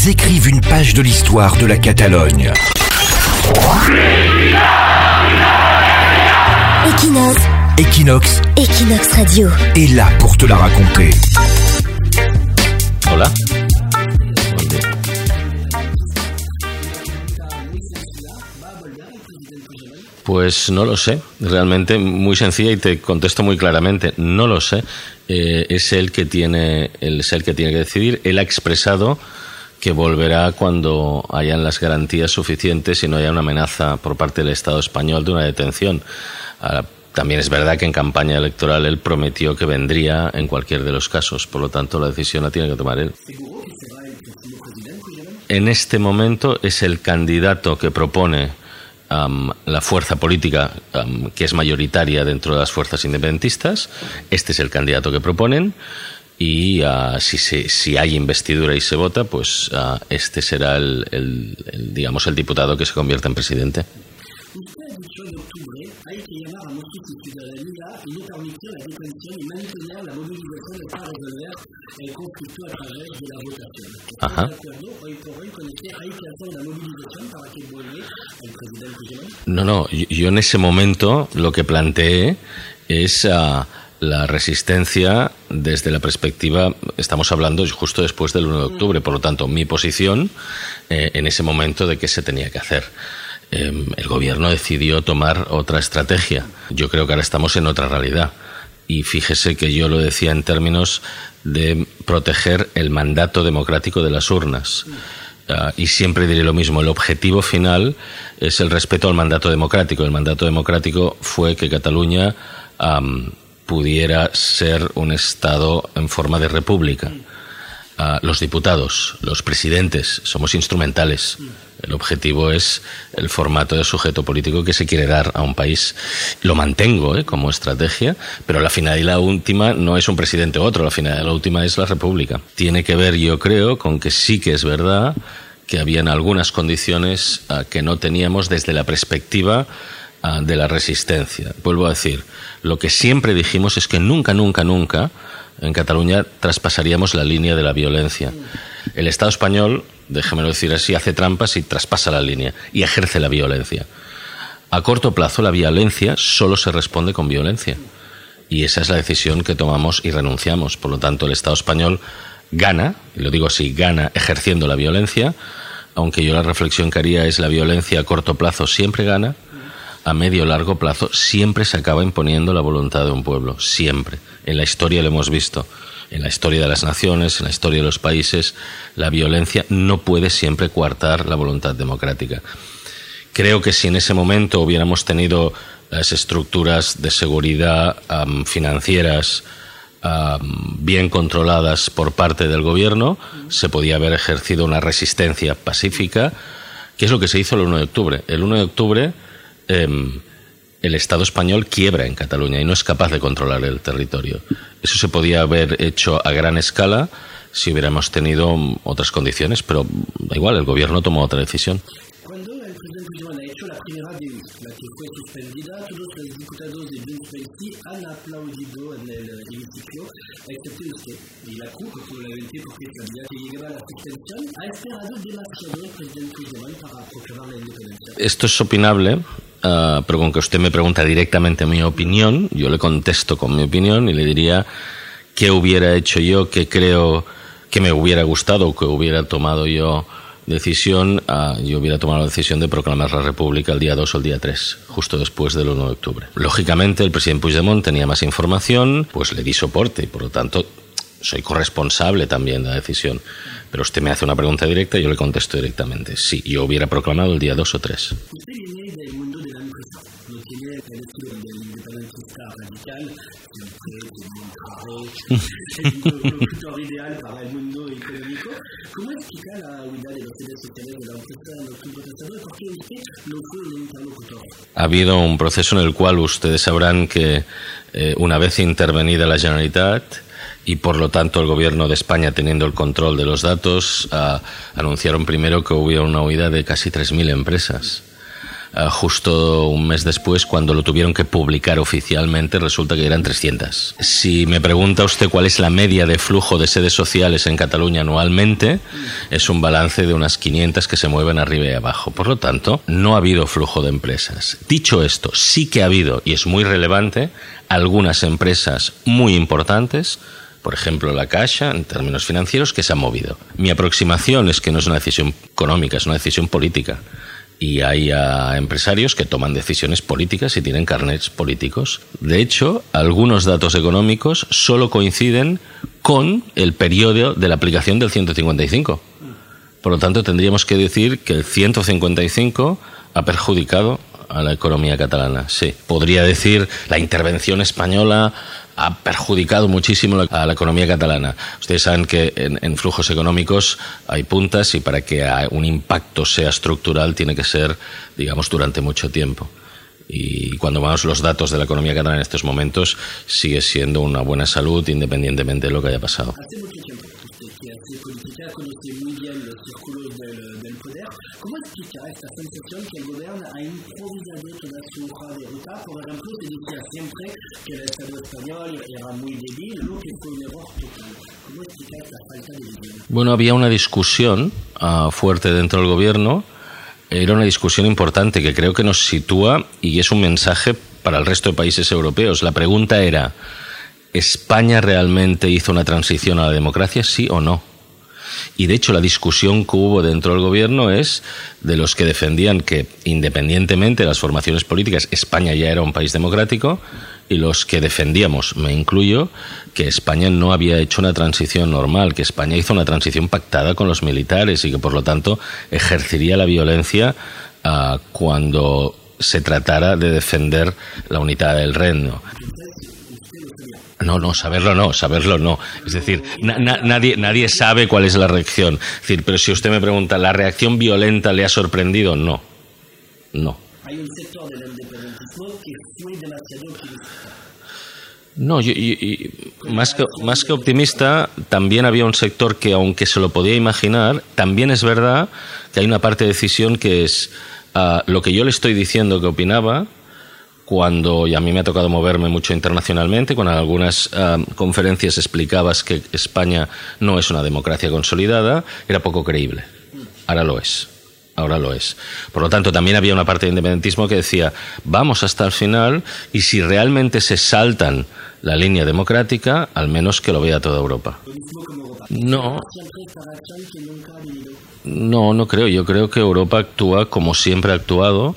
ils écrivent une page de l'histoire de la Catalogne. Equinox Radio est là pour te la raconter. Hola. Pues no lo sé, realmente muy sencilla y te contesto muy claramente, no lo sé. Es él que tiene que decidir. Él ha expresado que volverá cuando hayan las garantías suficientes y no haya una amenaza por parte del Estado español de una detención. También es verdad que en campaña electoral él prometió que vendría en cualquier de los casos, por lo tanto la decisión la tiene que tomar él. En este momento es el candidato que propone la fuerza política que es mayoritaria dentro de las fuerzas independentistas. Este es el candidato que proponen y si hay investidura y se vota, pues este será el diputado que se convierta en presidente. Usted ha dicho en octubre hay que llamar a nuestra ciudadanía y no permitir la detención y mantener la movilización para resolver el conflicto a través de la votación. ¿Estás de acuerdo hoy por hoy con que hay que hacer una movilización para que vuelva el presidente Puigdemont? No, yo en ese momento lo que planteé es la resistencia desde la perspectiva, estamos hablando justo después del 1 de octubre, por lo tanto mi posición en ese momento de qué se tenía que hacer. El gobierno decidió tomar otra estrategia. Yo creo que ahora estamos en otra realidad. Y fíjese que yo lo decía en términos de proteger el mandato democrático de las urnas. Y siempre diré lo mismo, el objetivo final es el respeto al mandato democrático. El mandato democrático fue que Cataluña pudiera ser un Estado en forma de república. Los diputados, los presidentes, somos instrumentales. El objetivo es el formato de sujeto político que se quiere dar a un país. Lo mantengo como estrategia, pero la finalidad última no es un presidente u otro, la finalidad última es la república. Tiene que ver, yo creo, con que sí que es verdad que habían algunas condiciones que no teníamos desde la perspectiva de la resistencia. Vuelvo a decir, lo que siempre dijimos es que nunca en Cataluña traspasaríamos la línea de la violencia. El Estado español, déjamelo decir así, hace trampas y traspasa la línea y ejerce la violencia. A corto plazo la violencia solo se responde con violencia y esa es la decisión que tomamos y renunciamos. Por lo tanto, el Estado español gana, y lo digo así, gana ejerciendo la violencia, aunque yo la reflexión que haría es la violencia a corto plazo siempre gana, a medio o largo plazo siempre se acaba imponiendo la voluntad de un pueblo, siempre. En la historia lo hemos visto, en la historia de las naciones, en la historia de los países, la violencia no puede siempre coartar la voluntad democrática. Creo que si en ese momento hubiéramos tenido las estructuras de seguridad financieras bien controladas por parte del gobierno, se podía haber ejercido una resistencia pacífica, que es lo que se hizo el 1 de octubre. El 1 de octubre el Estado español quiebra en Cataluña y no es capaz de controlar el territorio. Eso se podía haber hecho a gran escala si hubiéramos tenido otras condiciones, pero da igual, el gobierno tomó otra decisión. Cuando el presidente Puigdemont ha hecho la primera DEU, la que fue suspendida, todos los diputados de Junts pel Sí han aplaudido en el hemiciclo, excepto usted. Y la CUP, probablemente porque sabía que llegaba la suspensión, ha esperado demasiado el presidente Puigdemont para proclamar la independencia. Esto es opinable, pero con que usted me pregunta directamente mi opinión, yo le contesto con mi opinión y le diría qué hubiera hecho yo, qué creo que me hubiera gustado o que hubiera tomado yo decisión. Yo hubiera tomado la decisión de proclamar la República el día 2 o el día 3, justo después del 1 de octubre. Lógicamente, el presidente Puigdemont tenía más información, pues le di soporte y, por lo tanto, soy corresponsable también de la decisión. Pero usted me hace una pregunta directa y yo le contesto directamente. Sí, yo hubiera proclamado el día 2 o 3. Usted viene del mundo de la empresa, no tiene el estilo del independentista radical, siempre es un interlocutor ideal para el mundo económico. ¿Cómo explica la huida de los líderes sociales de la empresa en octubre pasado y por qué usted no fue un interlocutor? Ha habido un proceso en el cual ustedes sabrán que una vez intervenida la Generalitat y por lo tanto el gobierno de España teniendo el control de los datos, anunciaron primero que hubo una huida de casi 3.000 empresas. justo un mes después, cuando lo tuvieron que publicar oficialmente, resulta que eran 300. Si me pregunta usted cuál es la media de flujo de sedes sociales en Cataluña anualmente, es un balance de unas 500 que se mueven arriba y abajo. Por lo tanto, no ha habido flujo de empresas. Dicho esto, sí que ha habido, y es muy relevante, algunas empresas muy importantes, por ejemplo la Caixa, en términos financieros, que se han movido. Mi aproximación es que no es una decisión económica, es una decisión política. Y hay empresarios que toman decisiones políticas y tienen carnets políticos. De hecho, algunos datos económicos solo coinciden con el periodo de la aplicación del 155. Por lo tanto, tendríamos que decir que el 155 ha perjudicado a la economía catalana. Sí, podría decir la intervención española ha perjudicado muchísimo a la economía catalana. Ustedes saben que en flujos económicos hay puntas y para que un impacto sea estructural tiene que ser, digamos, durante mucho tiempo. Y cuando vemos los datos de la economía catalana en estos momentos, sigue siendo una buena salud independientemente de lo que haya pasado. Hace mucho tiempo usted que hace política, conoce muy bien los círculos del poder. ¿Cómo explica esta sensación que el gobierno ha improvisado toda su hoja de ruta? Por ejemplo, se decía siempre que el Estado español era muy débil, lo que fue un error total. ¿Cómo explica esta falta de visión? Bueno, había una discusión fuerte dentro del gobierno. Era una discusión importante que creo que nos sitúa y es un mensaje para el resto de países europeos. La pregunta era, ¿España realmente hizo una transición a la democracia, sí o no? Y de hecho la discusión que hubo dentro del gobierno es de los que defendían que independientemente de las formaciones políticas España ya era un país democrático y los que defendíamos, me incluyo, que España no había hecho una transición normal, que España hizo una transición pactada con los militares y que por lo tanto ejercería la violencia cuando se tratara de defender la unidad del reino. No, saberlo no. Es decir, nadie sabe cuál es la reacción. Es decir, pero si usted me pregunta, ¿la reacción violenta le ha sorprendido? No. Hay un sector del independentismo que fue demasiado optimista. No, más que optimista, también había un sector que, aunque se lo podía imaginar, también es verdad que hay una parte de decisión que es lo que yo le estoy diciendo que opinaba, cuando, y a mí me ha tocado moverme mucho internacionalmente, cuando en algunas conferencias explicabas que España no es una democracia consolidada, era poco creíble. Ahora lo es. Por lo tanto, también había una parte de independentismo que decía, vamos hasta el final y si realmente se saltan la línea democrática, al menos que lo vea toda Europa. No creo. Yo creo que Europa actúa como siempre ha actuado,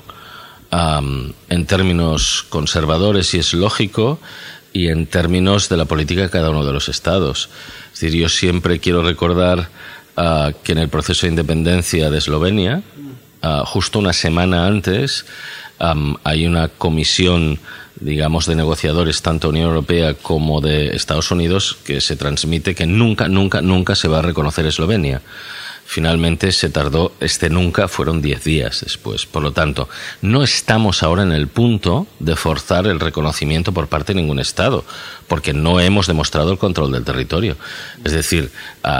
en términos conservadores, y es lógico, y en términos de la política de cada uno de los estados. Es decir, yo siempre quiero recordar que en el proceso de independencia de Eslovenia, justo una semana antes, hay una comisión, digamos, de negociadores, tanto Unión Europea como de Estados Unidos, que se transmite que nunca se va a reconocer Eslovenia. Finalmente se tardó, nunca fueron 10 días después. Por lo tanto, no estamos ahora en el punto de forzar el reconocimiento por parte de ningún Estado, porque no hemos demostrado el control del territorio. Es decir,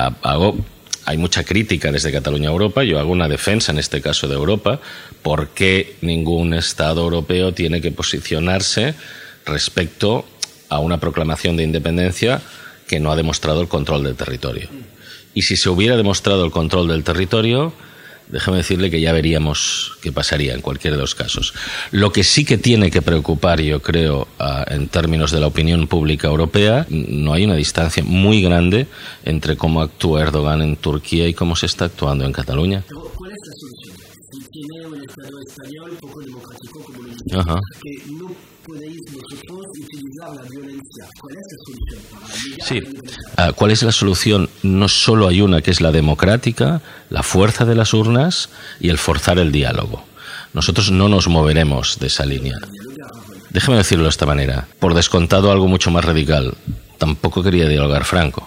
hay mucha crítica desde Cataluña a Europa, yo hago una defensa en este caso de Europa, porque ningún Estado europeo tiene que posicionarse respecto a una proclamación de independencia que no ha demostrado el control del territorio. Y si se hubiera demostrado el control del territorio, déjame decirle que ya veríamos qué pasaría en cualquiera de los casos. Lo que sí que tiene que preocupar, yo creo, en términos de la opinión pública europea, no hay una distancia muy grande entre cómo actúa Erdogan en Turquía y cómo se está actuando en Cataluña. Pero, ¿cuál es la solución? Si tiene un Estado español poco democrático, como lo dice, que no podéis vosotros utilizar la violencia. ¿Cuál es la solución para llegar a la democracia? ¿Cuál es la solución? No solo hay una, que es la democrática, la fuerza de las urnas y el forzar el diálogo. Nosotros no nos moveremos de esa línea. Déjeme decirlo de esta manera. Por descontado, algo mucho más radical. Tampoco quería dialogar Franco.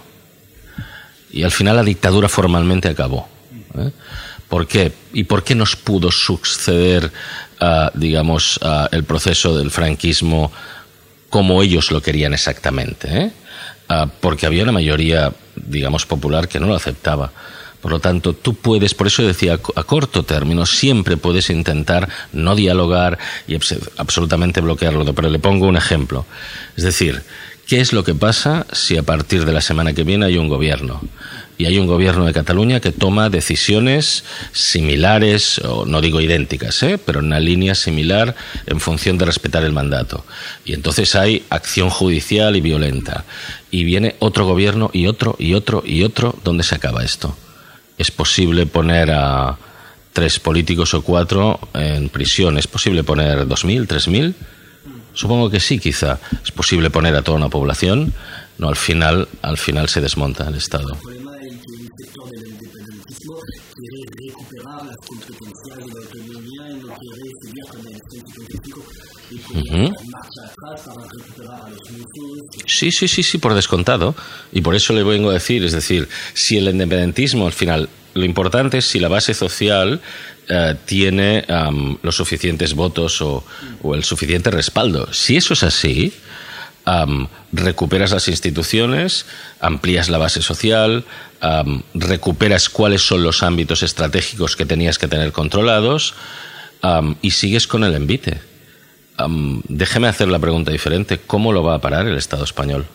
Y al final la dictadura formalmente acabó. ¿Por qué? ¿Y por qué nos pudo suceder, digamos, el proceso del franquismo como ellos lo querían exactamente? Porque había una mayoría, digamos, popular que no lo aceptaba. Por lo tanto, tú puedes, por eso decía, a corto término, siempre puedes intentar no dialogar y absolutamente bloquearlo. Pero le pongo un ejemplo. Es decir, ¿qué es lo que pasa si a partir de la semana que viene hay un gobierno? Y hay un gobierno de Cataluña que toma decisiones similares, o no digo idénticas, pero en una línea similar en función de respetar el mandato. Y entonces hay acción judicial y violenta. Y viene otro gobierno y otro y otro y otro. ¿Dónde se acaba esto? ¿Es posible poner a 3 políticos o 4 en prisión? ¿Es posible poner 2.000, 3.000? Supongo que sí, quizá. ¿Es posible poner a toda una población? No, al final se desmonta el Estado. El problema es que un sector del independentismo quiere recuperar las competencias de la autonomía y no quiere seguir con el 155 y con marcha atrás para recuperar a los musos. Sí, por descontado. Y por eso le vengo a decir, es decir, si el independentismo, al final, lo importante es si la base social tiene los suficientes votos o el suficiente respaldo. Si eso es así, recuperas las instituciones, amplías la base social, recuperas cuáles son los ámbitos estratégicos que tenías que tener controlados y sigues con el envite. Déjeme hacer la pregunta diferente. ¿Cómo lo va a parar el Estado español?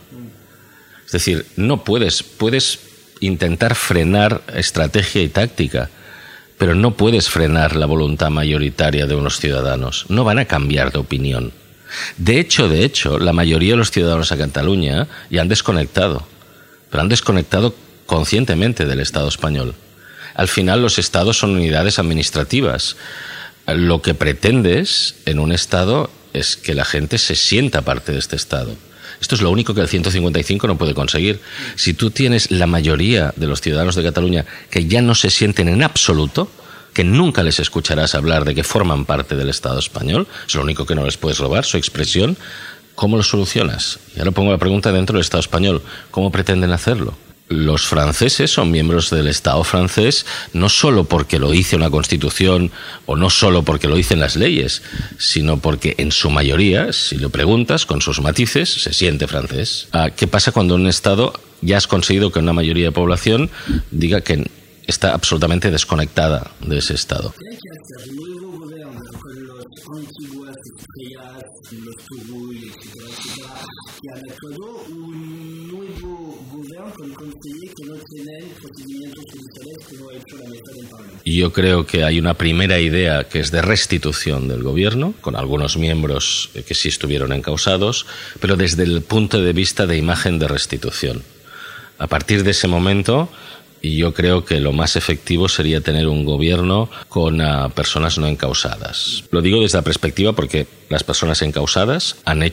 Es decir, no puedes intentar frenar estrategia y táctica, pero no puedes frenar la voluntad mayoritaria de unos ciudadanos. No van a cambiar de opinión. De hecho, la mayoría de los ciudadanos a Cataluña ya han desconectado, pero han desconectado conscientemente del Estado español. Al final, los estados son unidades administrativas. Lo que pretendes en un Estado es que la gente se sienta parte de este Estado. Esto es lo único que el 155 no puede conseguir. Si tú tienes la mayoría de los ciudadanos de Cataluña que ya no se sienten en absoluto, que nunca les escucharás hablar de que forman parte del Estado español, es lo único que no les puedes robar, su expresión, ¿cómo lo solucionas? Y ahora pongo la pregunta dentro del Estado español, ¿cómo pretenden hacerlo? Los franceses son miembros del Estado francés no solo porque lo dice una constitución o no solo porque lo dicen las leyes, sino porque en su mayoría, si lo preguntas con sus matices, se siente francés. ¿Qué pasa cuando en un Estado ya has conseguido que una mayoría de población diga que está absolutamente desconectada de ese Estado? ¿Qué hay que hacer? Nuevo gobierno con los antiguas estrellas, los Turull, etcétera, que han actuado, un nuevo gobierno con consejeros que no tienen procedimientos judiciales como ha hecho la mesa del Parlamento. Yo creo que hay una primera idea que es de restitución del gobierno, con algunos miembros que sí estuvieron encausados, pero desde el punto de vista de imagen de restitución. A partir de ese momento, y yo creo que lo más efectivo sería tener un gobierno con personas no encausadas. Lo digo desde la perspectiva porque las personas encausadas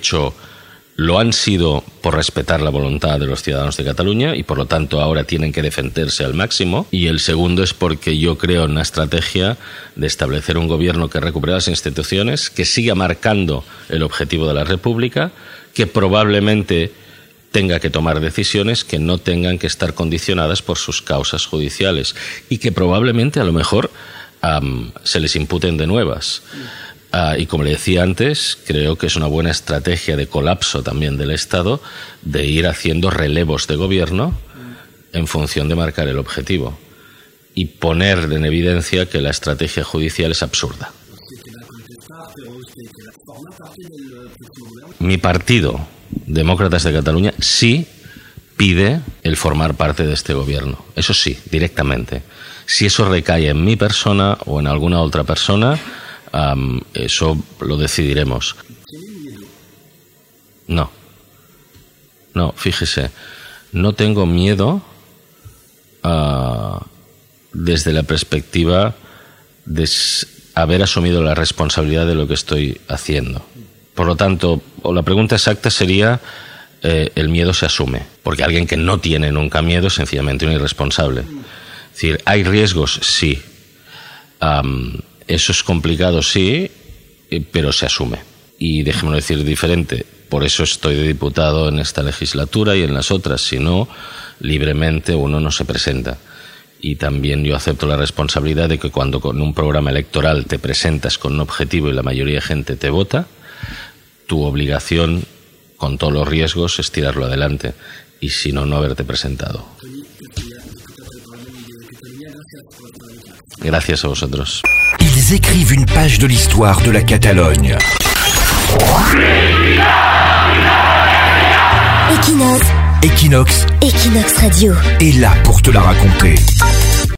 lo han sido por respetar la voluntad de los ciudadanos de Cataluña y por lo tanto ahora tienen que defenderse al máximo. Y el segundo es porque yo creo en una estrategia de establecer un gobierno que recupere las instituciones, que siga marcando el objetivo de la República, que probablemente tenga que tomar decisiones que no tengan que estar condicionadas por sus causas judiciales y que probablemente a lo mejor se les imputen de nuevas. Y como le decía antes, creo que es una buena estrategia de colapso también del Estado de ir haciendo relevos de gobierno en función de marcar el objetivo y poner en evidencia que la estrategia judicial es absurda. Mi partido, Demócratas de Cataluña, sí pide el formar parte de este gobierno. Eso sí, directamente. Si eso recae en mi persona o en alguna otra persona, eso lo decidiremos. No, fíjese, no tengo miedo desde la perspectiva de haber asumido la responsabilidad de lo que estoy haciendo. Por lo tanto, la pregunta exacta sería, el miedo se asume, porque alguien que no tiene nunca miedo es sencillamente un irresponsable. Es decir, ¿hay riesgos? Sí. Eso es complicado, sí, pero se asume. Y déjeme decir diferente, por eso estoy de diputado en esta legislatura y en las otras, si no, libremente uno no se presenta. Y también yo acepto la responsabilidad de que cuando con un programa electoral te presentas con un objetivo y la mayoría de gente te vota, tu obligación, con todos los riesgos, es tirarlo adelante. Y si no, no haberte presentado. Gracias a vosotros. Ils écrivent une page de l'histoire de la Catalogne. Equinox Equinox Radio est là pour te la raconter.